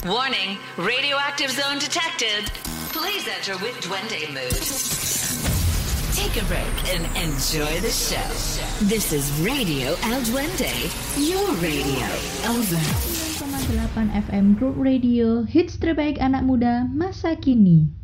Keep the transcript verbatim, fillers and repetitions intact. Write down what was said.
Warning, radioactive zone detected. Please enter with Duende mood. Take a break and enjoy the show. This is Radio El Duende, your radio. Over. sembilan koma delapan F M Group Radio, hits terbaik anak muda masa kini.